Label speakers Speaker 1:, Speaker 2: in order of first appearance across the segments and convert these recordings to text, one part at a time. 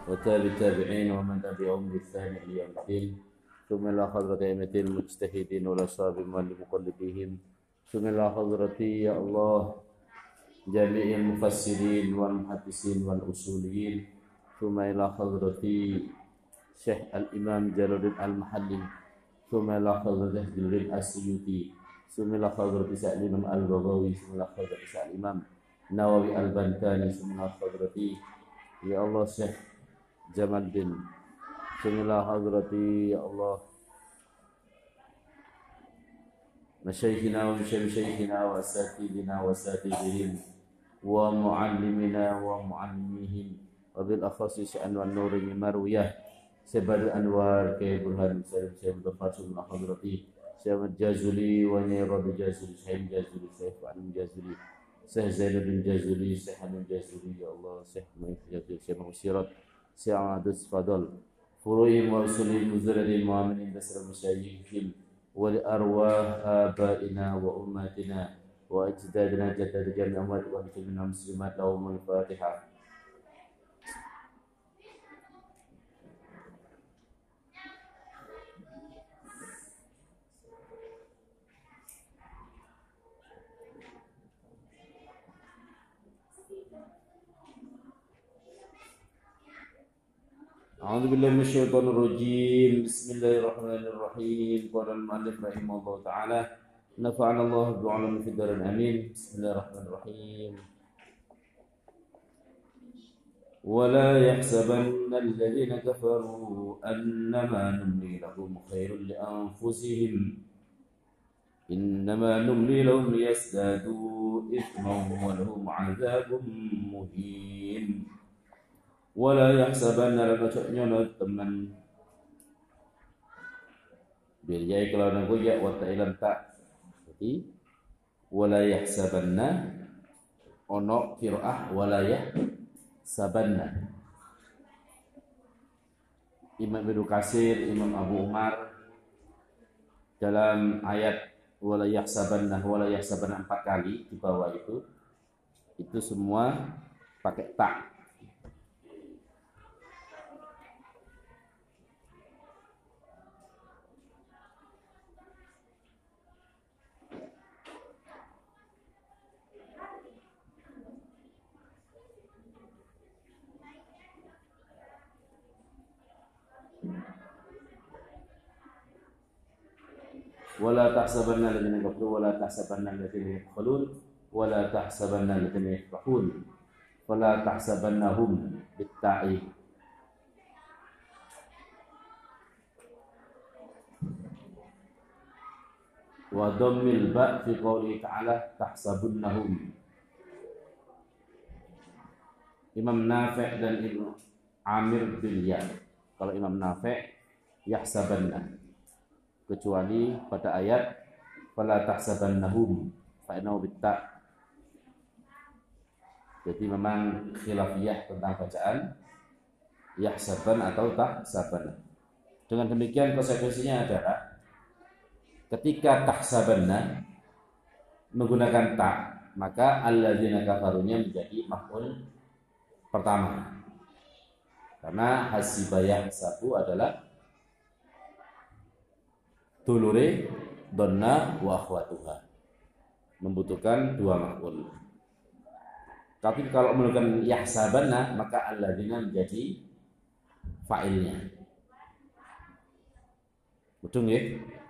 Speaker 1: وتابع التابعين ومن تبعهم بإحسان إلى يوم الدين ثم إلى حضرة أئمة المجتهدين والأصحاب والمقلدين ثم إلى حضرة يا الله جميع المفسرين والمحدثين والأصوليين ثم إلى حضرة شيخ الإمام جلال المحلي ثم إلى حضرة جلال السيوطي ثم إلى حضرة شيخ الإمام البغوي ثم إلى حضرة شيخ الإمام نووي البنتاني ثم إلى حضرة يا الله شيخ جمال الدين ثم إلى حضرة يا الله مشايخنا ومشايخنا وأساتذتنا وأساتذتهم ومعلمنا ومعلميهم وبالأخص شأن والنور من مروية سبر الأنوار كي برهان سيد الفاصل من حضرتي سيد الجازلي ونيرد الجازلي سيد الجازلي سيد علم الجازلي سيد زين بن الجازلي سيد حمد الجازلي يا الله سيد الجازلي سيد مغسيرات سيد عادس فضل فروعهم ورسولهم وزرد المؤمنين بسر المشايخين ولأرواح آبائنا وأماتنا وأجدادنا جدد جميع الأموات والمسلمين والمسلمات لهم الفاتحة. أعوذ بالله من الشيطان الرجيم بسم الله الرحمن الرحيم قال المؤلف رحمه الله تعالى نفعنا الله بعلم في الدار الأمين بسم الله الرحمن الرحيم ولا يحسبن الذين كفروا أنما نملي لهم خير لأنفسهم إنما نملي لهم ليزدادوا إثما ولهم عذاب مهين ولا يحسبن لك teman biar kalau nunggu ya wata ilam tak jadi wala yahsabanna ono qiraah wala yahsabanna Imam Ibnu Katsir Imam Abu Umar dalam ayat wala yahsabanna 4 kali di bawah itu semua pakai tak. ولا تحسبن الذين كفروا ولا تحسبن الذين يبخلون ولا تحسبن الذين يفرحون ولا تحسبنهم بالتاء وضم الباء في قوله تعالى تحسبنهم Imam Nafi' dan Ibnu Amir bil ya. Kalau Imam Nafi' yahsabanna kecuali pada ayat fala tahsabannahum fa innahu bitta. Jadi memang khilafiyah tentang bacaan yahsaban atau tahsabanna. Dengan demikian konsekuensinya adalah ketika tahsabanna menggunakan ta, maka alladzina kafarunya menjadi maf'ul pertama. Karena hasibayah sabu adalah dulure donna wa akhwatuha membutuhkan dua maf'ul. Tapi kalau menggunakan yahsabanna maka alladzina menjadi fa'ilnya. Betul ya?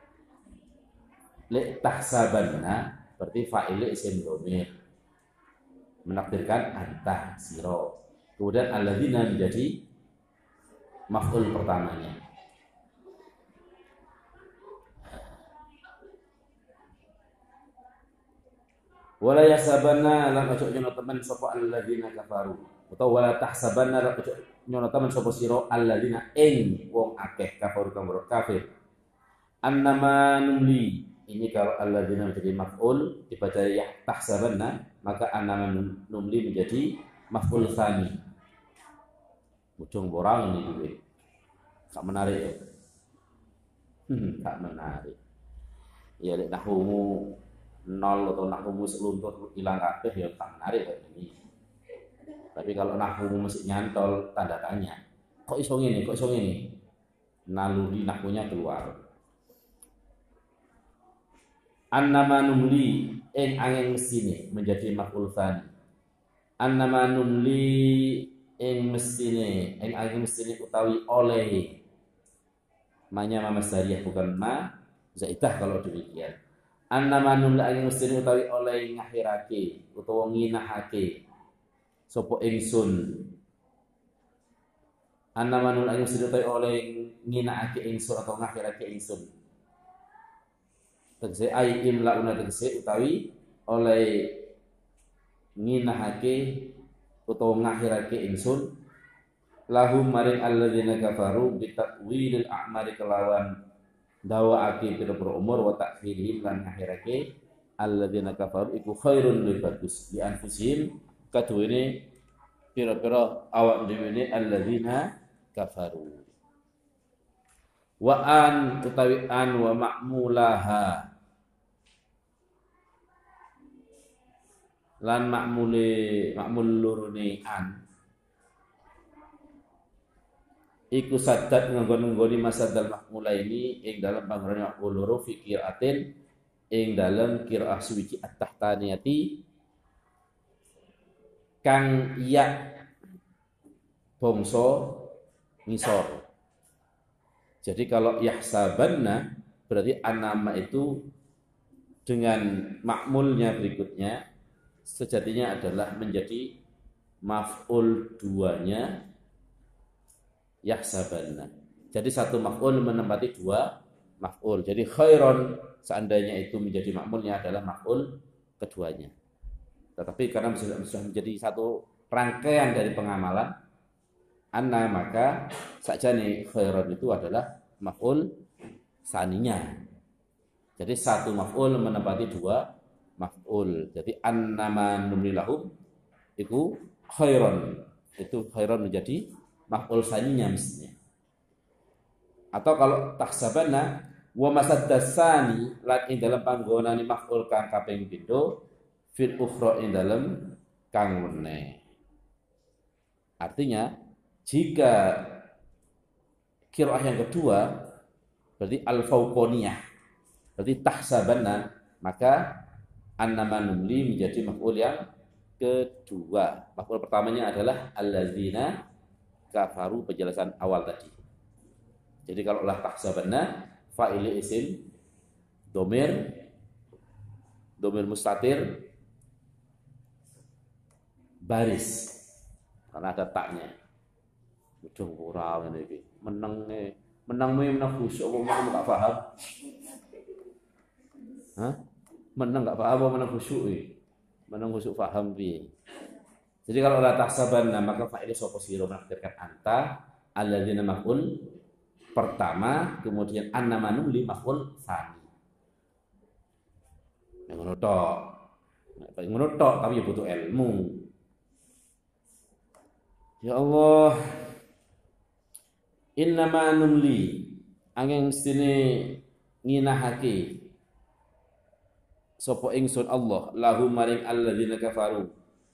Speaker 1: Li tahsabanna berarti fa'il isim dhamir. Menakdirkan anta sira. Kemudian alladzina menjadi maf'ul pertamanya. Wala yasabanna lan ojo nyono temen sapa alladzina kafaru utawa wala tahsabanna lan ojo nyono temen sapa sira alladzina ing wong akeh kafaru kang kafir annama numli ini kalau alladzina menjadi maf'ul dibaca ya tahsabanna maka annama numli menjadi maf'ul tsani mujung borang ini duwe gak menarik ya gak menarik ya lek nahwu nol atau nahwu seluntur hilang kabeh ya tak menarik kayak ini. Tapi kalau nahwu mesti nyantol tanda tanya. Kok iso ngene, kok iso ngene. Naluri nahwunya keluar. Annama numli ing angin mestine menjadi maf'ul tsani. Annama numli ing mestine ing angin mestine utawi oleh. Ma-nya ma masdariyah bukan ma zaidah kalau demikian. Annama numli angin mestine utawi oleh ngakhirake utawa nginahake sapa ingsun. Annama numli angin mestine utawi oleh nginahake ingsun atau ngakhirake ingsun. Tegese ai imlauna tegese utawi oleh nginahake utawa ngakhirake ingsun lahum maring alladzina kafaru bitakwilil a'mari kelawan dawaake pira-pira umur wa ta'khirihim lan ngakhirake alladzina kafaru iku khairun luwih bagus di anfusihim kaduwene pira-pira awak dhewe alladzina kafaru wa an utawi an wa ma'mulaha lan makmul lurune an iku sadat nggon-nggoni masadal makmula ini ing dalam panggonan makmul loro fi qiraatin ing dalam qiraah suwiji at-tahtaniyati kang ya bangsa ngisor. Jadi kalau yahsabanna berarti anama itu dengan makmulnya berikutnya sejatinya adalah menjadi maf'ul duanya yahsabanna. Jadi satu maf'ul menempati dua maf'ul. Jadi khairon seandainya itu menjadi makmulnya adalah maf'ul keduanya. Tetapi karena sudah menjadi satu rangkaian dari pengamalan anna maka sakjane khairon itu adalah maf'ul saninya. Jadi satu maf'ul menempati dua maf'ul. Jadi annama numlilahum itu khairon. Itu khairon menjadi maf'ul saninya mestinya. Atau kalau tahsabanna wa masaddasani lan ing dalam panggonane maf'ul kang kaping pindho fil ukhra ing dalam kang meneh. Artinya jika qiraah yang kedua berarti al-fauqaniyah. Berarti tahsabanna maka annama numli menjadi maf'ul yang kedua. Maf'ul pertamanya adalah alladzina kafaru penjelasan awal tadi. Jadi kalau lah tahsabanna fa'il isim domir mustatir baris karena ada taknya. Udah kurang ngene iki. Menang khusyuk apa menang gak paham? Hah? Menang gak paham apa menang khusyuk iki? Menang khusyuk paham piye? Jadi kalau la tahsabanna maka fa'il sapa sira menakdirkan anta alladzina maf'ul pertama kemudian annama numli maf'ul tsani. Yang ngono tok tapi butuh ilmu. Ya Allah innama numli angin sini nginahake sapa ingsun Allah lahum maring alladzina kafaru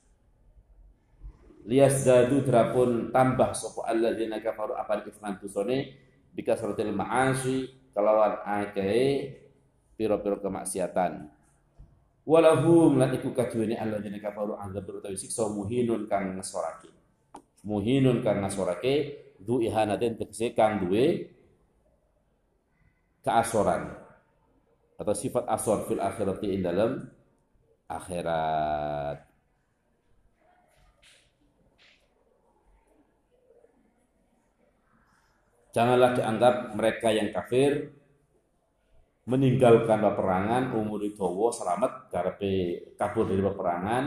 Speaker 1: liyazdadu drapun tambah sapa alladzina kafaru apa ifman tusone bikasratil ma'asi kelawan akeh pira-pira kemaksiatan walahum lan iku kaduwene alladzina kafaru azab utawi siksa muhinun kang ngesorake du ihanatin tegese kang duwe keasoran atau sifat asor fil akhirati ing dalam akhirat. Janganlah dianggap mereka yang kafir meninggalkan peperangan umur dawa selamat karepe kabur dari peperangan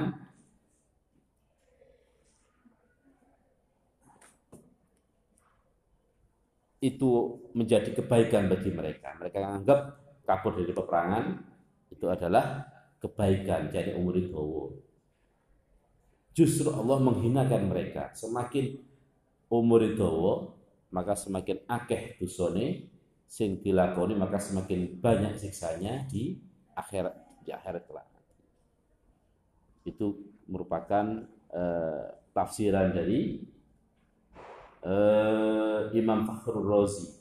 Speaker 1: itu menjadi kebaikan bagi mereka. Mereka anggap kabur dari peperangan itu adalah kebaikan, jadi umur dawa. Justru Allah menghinakan mereka. Semakin umur dawa, maka semakin akeh dosane sing dilakoni, maka semakin banyak siksanya di akhirat kelak. Itu merupakan tafsiran dari Imam Fakhrul Razi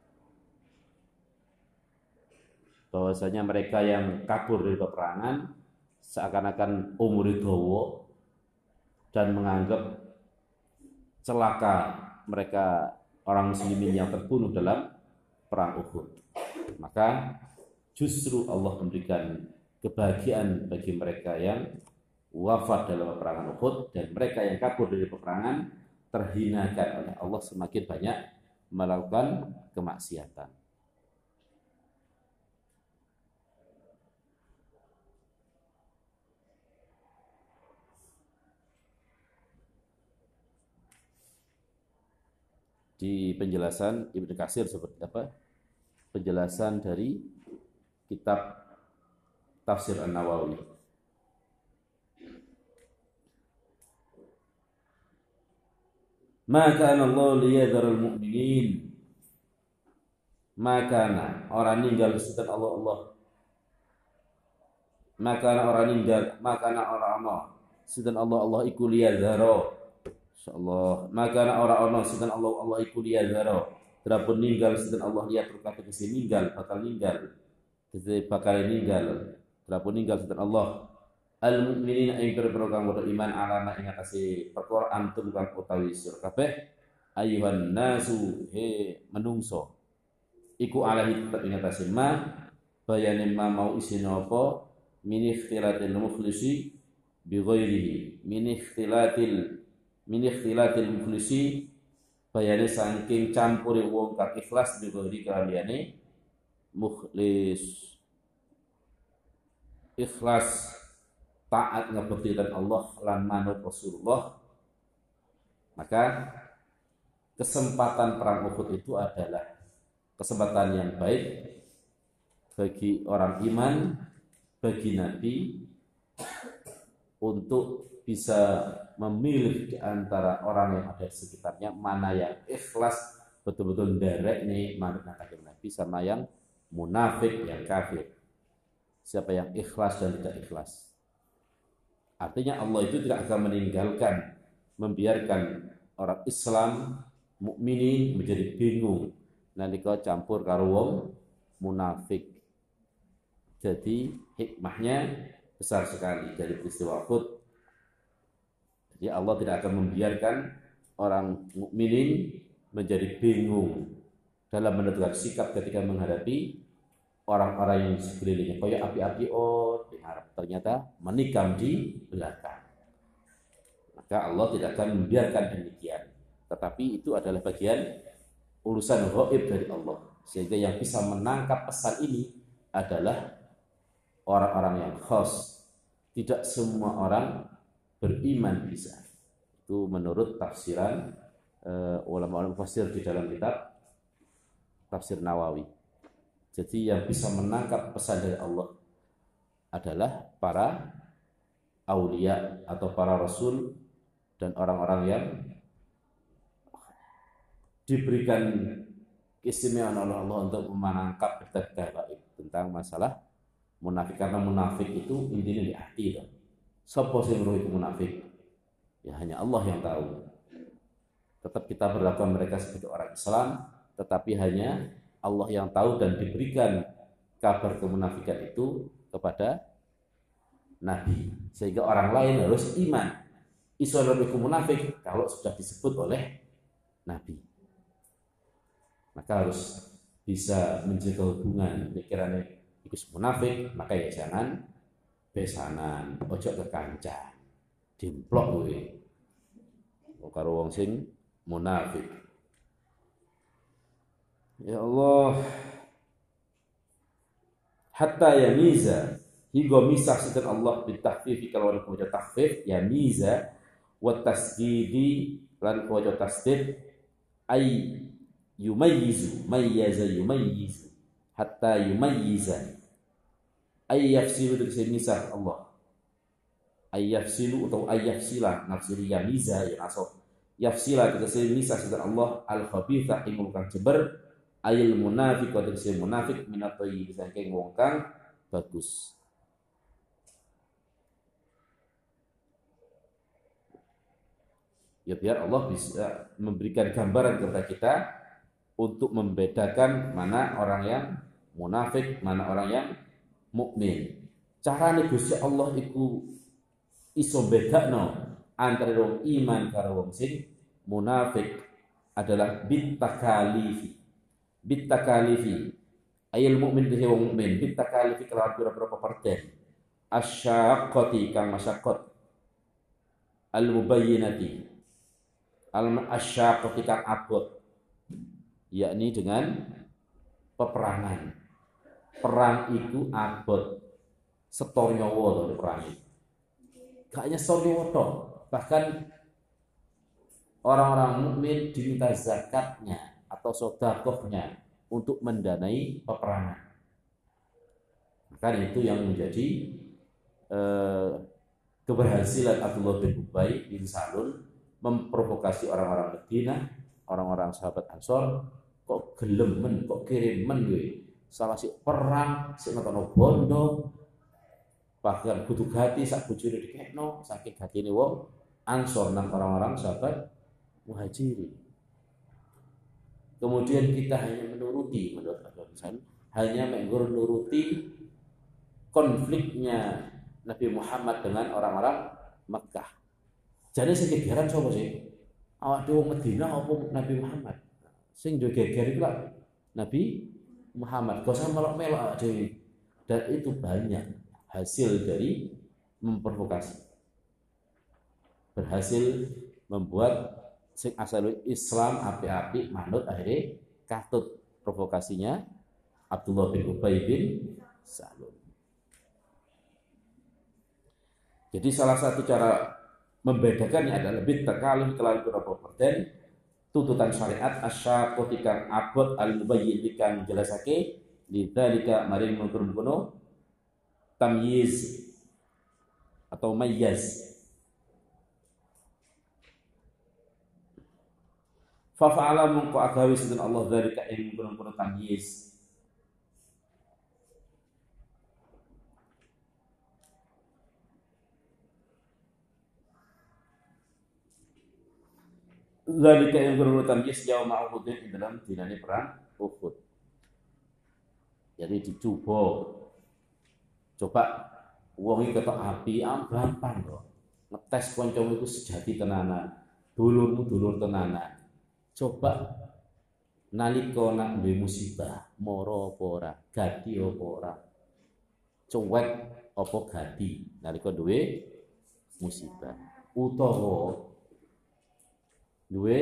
Speaker 1: bahwasanya mereka yang kabur dari peperangan seakan-akan umur dawa dan menganggap celaka mereka orang muslimin yang terbunuh dalam perang Uhud. Maka justru Allah memberikan kebahagiaan bagi mereka yang wafat dalam peperangan Uhud, dan mereka yang kabur dari peperangan terhinakan oleh Allah semakin banyak melakukan kemaksiatan. Di penjelasan Ibnu Katsir seperti apa? Penjelasan dari kitab Tafsir An-Nawawi. Maka Allah liyadharul mu'minin. Maka orang meninggal disebutkan Allah. Maka orang meninggal, maka orang disebutkan Allah iku liyadharo. Insyaallah. Maka orang disebutkan Allah iku liyadharo. Terapun ninggal disebutkan Allah lihat berkata kesi ninggal, bakal ninggal. Kesi bakal ninggal. Terapun ninggal disebutkan Allah. Al-mu'minin ing perkara kang beriman alama ing atase perkara antum kang utawi sira kabeh ayuhan nasu he menungso iku alahi tetep ing atase ma bayane ma mau isine apa min ikhtilatil mukhlisi bi ghairihi min ikhtilatil mukhlisi bayane saking campure wong kang ikhlas bi ghairi kaliyane mukhlis ikhlas taat ngabekti Allah lan manut Rasulullah. Maka kesempatan perang Uhud itu adalah kesempatan yang baik bagi orang iman, bagi Nabi untuk bisa memilih di antara orang yang ada di sekitarnya mana yang ikhlas betul-betul nderek nih manut Nabi sama yang munafik, yang kafir. Siapa yang ikhlas dan tidak ikhlas. Artinya Allah itu tidak akan meninggalkan, membiarkan orang Islam mukminin menjadi bingung nalika campur karo wong munafik. Jadi hikmahnya besar sekali dari peristiwa Uhud. Jadi Allah tidak akan membiarkan orang mukminin menjadi bingung dalam menentukan sikap ketika menghadapi orang-orang yang sekelilingnya. Kayak api-api diharap ternyata menikam di belakang. Maka Allah tidak akan membiarkan demikian. Tetapi itu adalah bagian urusan gaib dari Allah. Sehingga yang bisa menangkap pesan ini adalah orang-orang yang khas. Tidak semua orang beriman bisa. Itu menurut tafsiran ulama-ulama mufassir di dalam kitab Tafsir Nawawi. Jadi yang bisa menangkap pesan dari Allah adalah para aulia atau para rasul dan orang-orang yang diberikan keistimewaan oleh Allah untuk menangkap berita gaib tentang masalah munafik. Karena munafik itu intinya di hati. Siapa sih yang itu munafik? Ya hanya Allah yang tahu. Tetap kita berlakukan mereka sebagai orang Islam, tetapi hanya Allah yang tahu, dan diberikan kabar kemunafikan itu kepada Nabi. Sehingga orang lain harus iman. Islam itu munafik kalau sudah disebut oleh Nabi. Maka harus bisa menjaga hubungan. Pikirannya ikut munafik, maka ya jangan besanan, ojo kekancan, dimplok kowe. Karo wong sing munafik. Ya Allah, hatta yamiza hingga misah sinten Allah bitahfif kalau ada wajah tahfif ya miza wa tasdidi lan wajah tasdid ay yumayyizu yumayyizu hatta yumayyiza ay yafsilu dari misah Allah ay yafsilu atau ay yafsila nafsiri ya miza ya nasab yafsila dari misah sinten Allah al khabitha ing kang jeber ayil munafik wa tegese munafik minatoyi saking wong kang bagus. Ya biar Allah bisa memberikan gambaran kepada kita untuk membedakan mana orang yang munafik, mana orang yang mukmin. Carane Gusti Allah iku iso bedakno antara wong iman karo wong sing munafik adalah bitakalifi ayil mukmin bihi wong mukmin bitakalifi kelawan pira-pira peperten asyaqqati kang masyaqqat al mubayyinati al asyaqqati kang abot, yakni dengan peperangan. Perang itu abot setor nyawa to perang itu. Gak hanya setor nyawa tok, bahkan orang-orang mukmin diminta zakatnya atau sedekahnya untuk mendanai peperangan. Maka itu yang menjadi keberhasilan Abdullah bin Ubay bin Salul memprovokasi orang-orang Madinah, orang-orang sahabat Ansor, kok gelemen, kok kirimen gue. Salah si perang, si ngotono bondo, bahkan kudu gati sak bojone dikekno, saking gatine wong Ansor nang orang-orang sahabat Muhajirin. Kemudian kita hanya menuruti, menurut Abdul Hasan, hanya menuruti konfliknya Nabi Muhammad dengan orang-orang Makkah. Jadi sing gegeran sapa sih? Awak dhewe Madinah apa Nabi Muhammad? Sing duwe geger iku Nabi Muhammad. Gak usah melok-melok dhewe. Dan itu banyak hasil dari memprovokasi. Berhasil membuat sing asal Islam api-api manut akhirnya katut provokasinya Abdullah bin Ubay bin Salul. Jadi salah satu cara membedakannya adalah bitakalif kelawan perten tuntutan syariat asyaqqati kang abot al-mubayyin kang jelasake lidzalika maring mungkun tamyiz atau mayyaz. Fa fa'ala mungko agawi sinten Allah dzalika ing mungkun tamyiz. Zalika yang berurutan yes jauh ma'uhudin di dalam dinani perang Uhud. Jadi dicoba, coba uang itu ketok api, gampang kok. Ngetes koncomu itu sejati tenanan, dulurmu dulur tenanan. Coba nalika nak duwe musibah, moro apa ora, gadi apa ora, cuwek apa gadi nalika duwe musibah, utawa duwe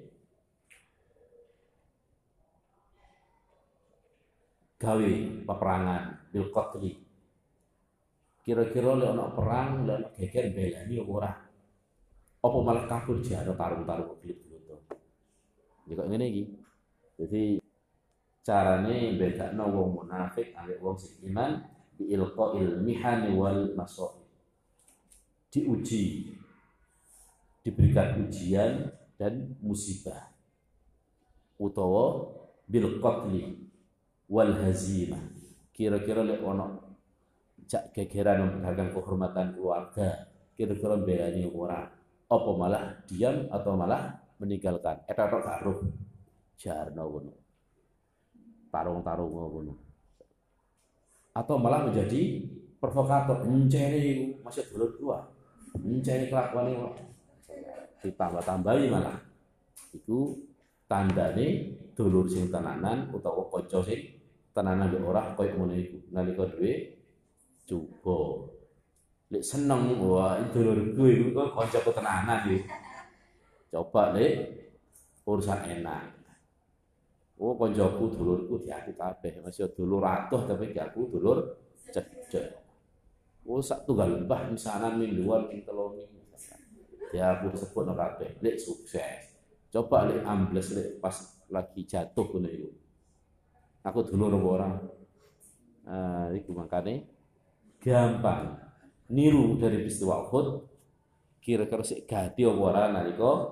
Speaker 1: gawe peperangan bil qatli. Kira-kira lek ana perang, lek ana geger belani apa ora? Apa malah kabur jare tarung-tarung glip-glip. Ya kok ngene iki. Jadi carane bedakno wong munafik ambek wong sing iman bi ilqail mihani wal masaib. Diuji, diberikan ujian dan musibah, utawa bil qatli wal hazimah. Kira-kira lek ono cak gegeran mempertahankan kehormatan keluarga, kira-kira belani ora, apa malah diam atau malah meninggalkan. Eta tok karo jarno ngono. Tarung-tarung ngono. Atau malah menjadi provokator, mencari masih dulur tua, mencari kelakuane ditambah-tambahi malah itu tandane dulur sing tenanan utawa kanca sing tenanan yo ora koyo ngono iku nalika duwe coba lek seneng wah dulurku iku kok kancaku tenanan iki coba lek urusan enak kancaku dulurku diaku kabeh masih dulur atuh tapi diaku dulur cecek sak tunggal mbah misanan ming luar ming telu ya aku sebut kabeh lek sukses. Coba lek ambles lek pas lagi jatuh ngono iku. Aku dulur apa ora? Iku makane gampang niru dari peristiwa Uhud. Kira-kira sik gadi apa ora nalika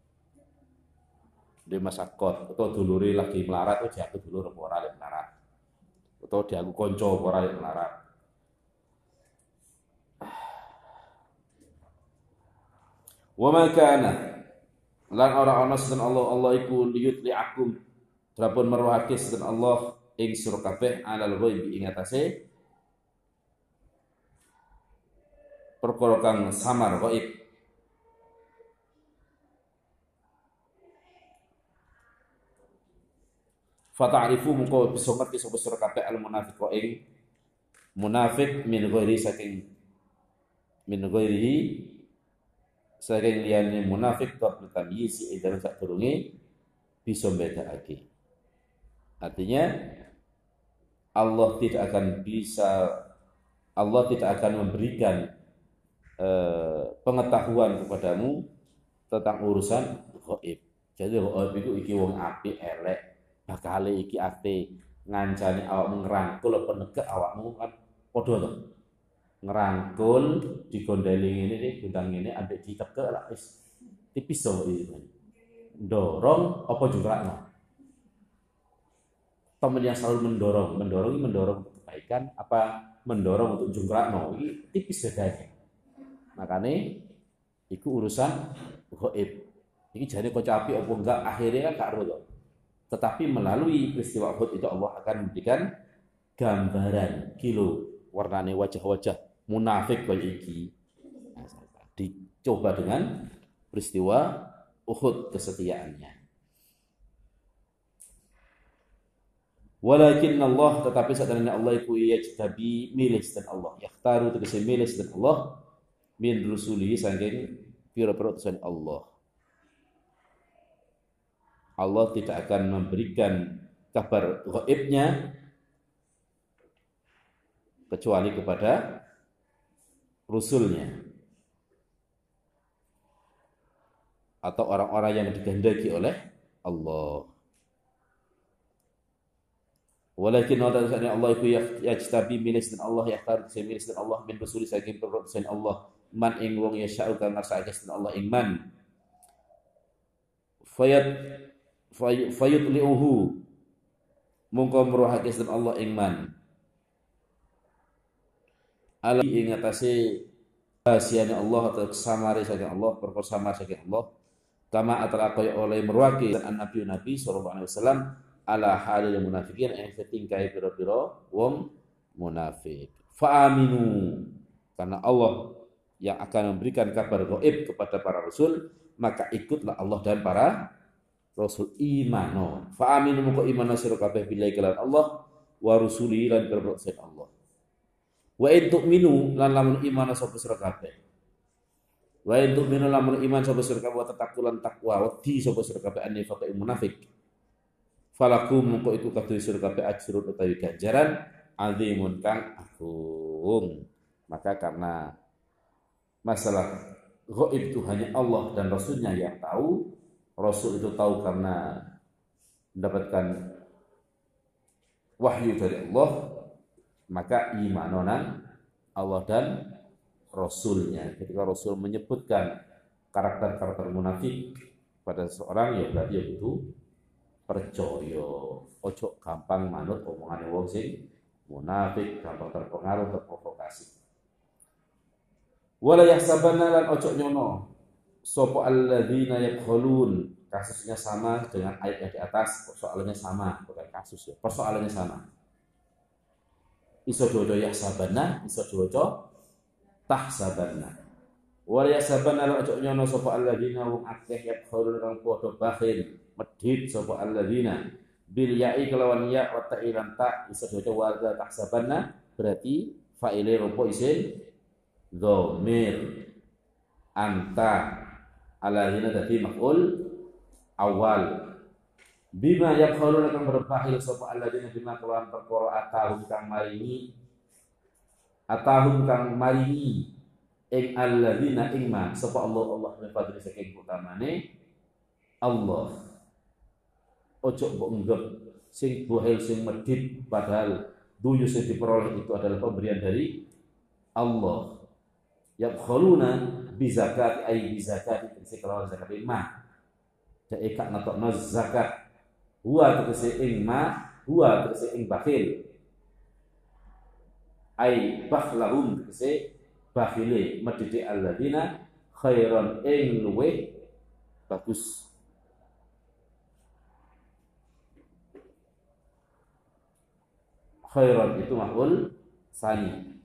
Speaker 1: di masakot atau dulure lagi melarat oh aku dulur apa ora lek melarat. Atau dia aku kanca apa ora lek melarat. Wa ma kana lan ora ana sinten Allah iku liyutli'akum drapun meruhake sinten Allah ing sira kabeh alal ghaibi ing atase perkara kang samar ghaib. Fata'rifu mengko bisa ngerti sapa sira kabeh al munafiq ing munafik min ghairi saking liyane munafik qabla tamyiz ing dalem sadurunge bisa mbedakake. Artinya Allah tidak akan memberikan pengetahuan kepadamu tentang urusan ghaib. Jadi ghaib itu iki wong apik elek, bakale iki ate ngancani awakmu ngrangkul apa negak awakmu kan padha to. Ngerangkul digondeli ngene iki gendang ngene ambek ditekek lah wis tipis to iki. Ndorong apa jungkrakno. Teman yang selalu mendorong untuk kebaikan apa mendorong untuk jungkrakno iki tipis bedanya. Makane iku urusan ghaib. Iki jane kanca apik apa enggak akhirnya kan gak ero to. Tetapi melalui peristiwa Uhud itu Allah akan memberikan gambaran kilo warnane wajah-wajah munafik kaya iki. Nah, dicoba dengan peristiwa Uhud kesetiaannya. Walakin Allah tetapi satana Allah iku yajtabi milih dan Allah yakhtaru tegese milih dan Allah min rusuli saking pira-pira utusan Allah. Allah tidak akan memberikan kabar gaibnya kecuali kepada Rasulnya atau orang-orang yang dikehendaki oleh Allah. Walakin Allah itu yajtabi milis dan Allah yakhtar milis dan Allah min rasuli saking perutusan Allah man ing wong yasha'u kang ngersakake dan Allah ing man fayutli'uhu mungko meruhake dan Allah ing man ala ing atase rahasiane Allah atau samare saking Allah perkara samar saking Allah kama atara kaya oleh meruhake dan nabi sallallahu alaihi wasallam ala halil munafikin yang setingkai pira-pira wong munafik. Fa'aminu karena Allah yang akan memberikan kabar gaib kepada para rasul, maka ikutlah Allah dan para rasul imano. Fa'aminu muka imano sira kabeh billahi kelan Allah wa rusuli lan berprosen Allah. Wa in tu'minu lan lamun imano sapa sira kabeh. Wa in tu'minu lamun iman sapa sira kabeh wa tatakulan takwa wedi sapa sira kabeh anifaq munafik. Falakum mengko iku kadhe sira kabeh ajrun utawi ganjaran azimun kang agung. Maka karena masalah gaib itu hanya Allah dan Rasulnya yang tahu, Rasul itu tahu karena mendapatkan wahyu dari Allah, maka imanonan Allah dan Rasulnya. Ketika Rasul menyebutkan karakter-karakter munafik pada seseorang, ya berarti ya itu percaya, ojo gampang manut omongane wong sing munafik, gampang terpengaruh, terprovokasi. Wala yahsabanna lan ojo nyono sapa alladzina yabkhulun, kasusnya sama dengan ayat yang di atas, persoalannya sama, bukan kasus ya, persoalannya sama. Iso dodo yahsabanna, iso dodo tahsabanna. Wala yahsabanna lan ojo nyono sapa alladzina wong akeh yabkhulun kang padha bakhil medhit sapa alladzina bil ya'i kelawan ya wa ta'ilan ta isa dojo warga tahsabanna berarti fa'ile rupa isim dhamir anta alladzina dadi maf'ul awal bima yaquluna kang berbakhil sapa alladzina bima kelawan perkara atahum kang maringi ing alladzina ing ma sapa Allah min fadli saking utamane Allah. Ojo mbok nggep sing bohel sing medhit padahal duyu sing diperoleh itu adalah pemberian dari Allah. Yabkhuluna bi zakat ay bi zakat tegese kelawan zakat ma. Dek kak natokno zakat. Huwa tegese ing ma, huwa tegese ing bakhil. Ay bakhlahum tegese bakhile medhit alladzina khairan ing luweh bagus. Khairan itu maf'ul tsani.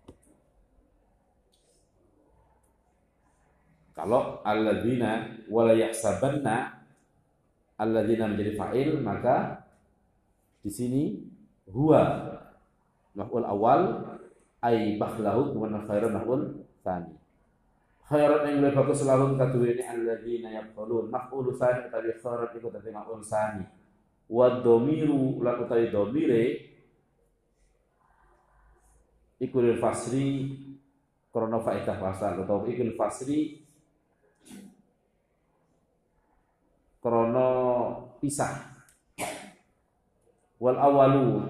Speaker 1: Kalau alladzina wala yahsabanna alladzina menjadi fa'il, maka di sini huwa maf'ul awal ay bakhlahu wa khairan maf'ul tsani. Khairan yang lebih bagus selalu kaduwe ini alladzina yaqulun maf'ul tsani tadi khairan iku dadi maf'ul tsani. Wa dhamiru la utawi dhamire ikul fasri krana faedah fasal atau ikul fasri krana pisah. Wal awalu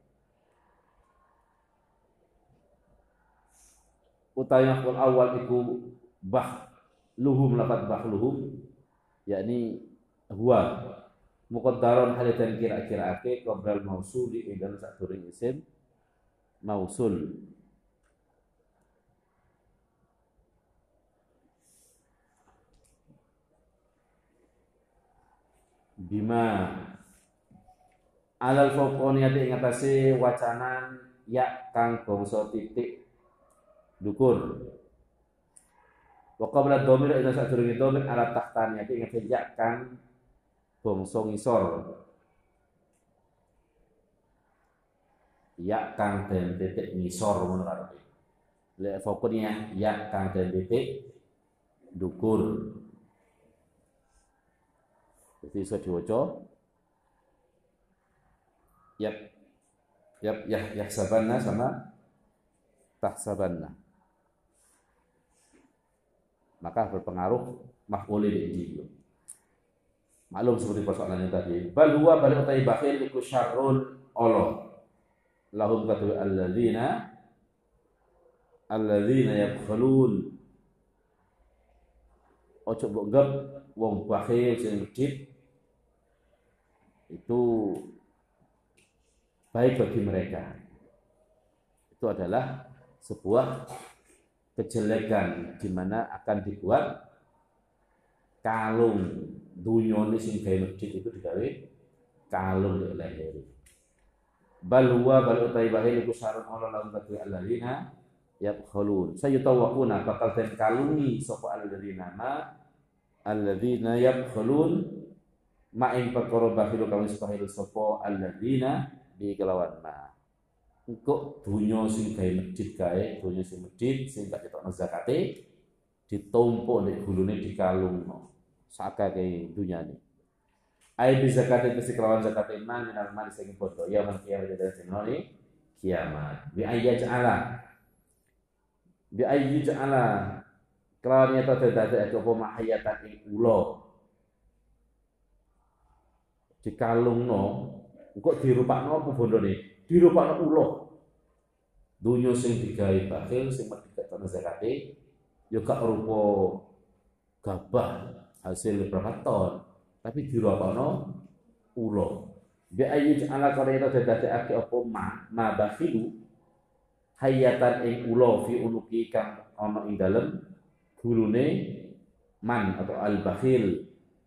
Speaker 1: utawi wal awal iku luhum lafat luhum, yakni huwa muqaddaron halidan kira-kiraake qabla mausuli ing dalem sadurunge isim mausul. Bima alal fauqaniyati ing atase wacanan ya kang bangsa titik dukur. Wa qabla dhamir ila sadurunge dhamir ala tahtaniyati ing atase ya kang bangsa ngisor. Ya kang den titik ngisor ngono karepe. Lek fokusnya ya kang den titik dukur. Jadi iso diwaca yahsabanna sama tahsabanna. Maka berpengaruh maf'ul bihi. Maklum seperti persoalannya tadi. Bal huwa bal utai bakhil iku syarrun Allah. Lahum katu alladzina yabkhulun. Ojo mbok gep wong bakhil sing medhit itu baik bagi mereka. Itu adalah sebuah kejelekan di mana akan dibuat kalung dunyane sing gawe medhit itu digawe kalung di leher. Bal huwa bal utai bahil iku syarun Allah lahum katu alladzina yabkhulun. Sayutawaquna bakal den kalungi sapa alladzina yabkhulun ma ing perkara bakhilu kang wis bakhilu sapa alladzina bi kelawan ma. Engko donya sing gawe medhit kae, donya sing medhit sing gak ketokno zakate ditumpuk nek gulune dikalungno. Sakake dunyane. Ai bi zakate mesti kelawan zakate man minal mal sing padha ya man kiamat dadi dinane kiamat. Bi ayyaj'ala kelawan nyata dadi apa mahayatan ing ula dikalungno engko dirupakno apa bondone dirupakno ula donya sing digawe bakhil sing medhit ana zakate ya gak rupa gabah hasil berapa ton tapi dirupakno ula bi ayyuj ala qarita dadake apa ma bakhilu hayatan ing ula fi unuki kang ana ing dalem gulune man atau al bakhil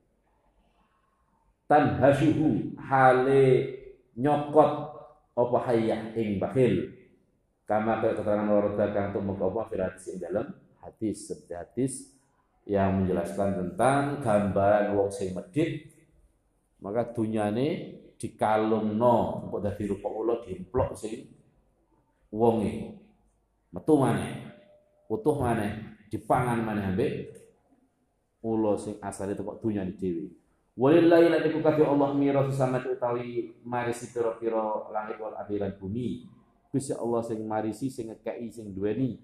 Speaker 1: tanhasuhu hale nyokot apa hayah ing bakhil kama keterangan warada kang tumeka apa firati ing dalem hadis yang menjelaskan tentang gambaran wong sing medhit maka dunyane dikalungno engko dadi rupa ula dimplok sing wonge metu maneh utuh maneh dipangan maneh ambek ula sing asale teko dunyane dhewe. Walillahi lan iku kadhe Allah mirasu samati utawi marisi pira-pira langit wal ardi lan bumi. Gusti Allah sing marisi sing ngekeki sing duweni.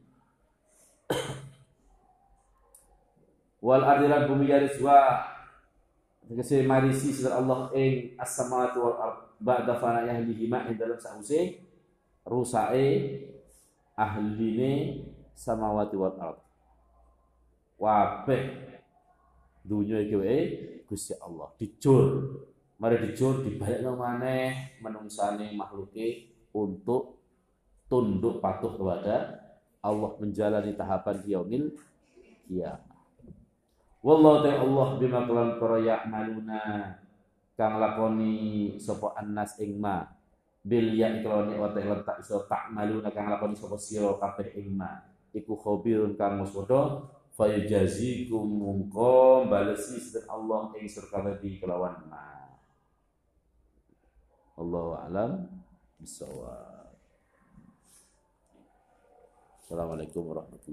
Speaker 1: Wal ardi lan bumi yaris wa tegese marisi sira Allah ing as-samawati wal ard ba'da fana'ihhi ma ing dalem sause rusake ahline samawati wal ard. Wabeh dunya iki wae Gusti Allah dijur. Mari dijur dibalekno maneh menungsane makhluke untuk tunduk patuh kepada Allah menjalani tahapan yaumil qiyamah. Wallahu ta'ala Allah bima kalan para ya'maluna kang lakoni sapa annas ing ma bil ya ikloni wa ta'ala tak iso ta'maluna kang lakoni sapa sira kabeh ing ma iku khabirun kang muspada fayujazikum mungko balesi sedek Allah ing surga di kelawan ma. Allahu a'lam bissawab. Assalamualaikum warahmatullahi